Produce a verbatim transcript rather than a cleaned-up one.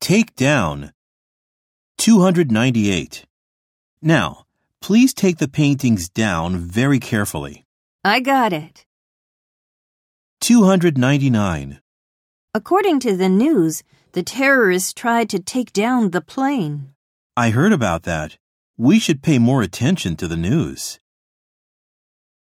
Take down. two hundred ninety-eight. Now, please take the paintings down very carefully. I got it. two hundred ninety-nine. According to the news, the terrorists tried to take down the plane. I heard about that. We should pay more attention to the news.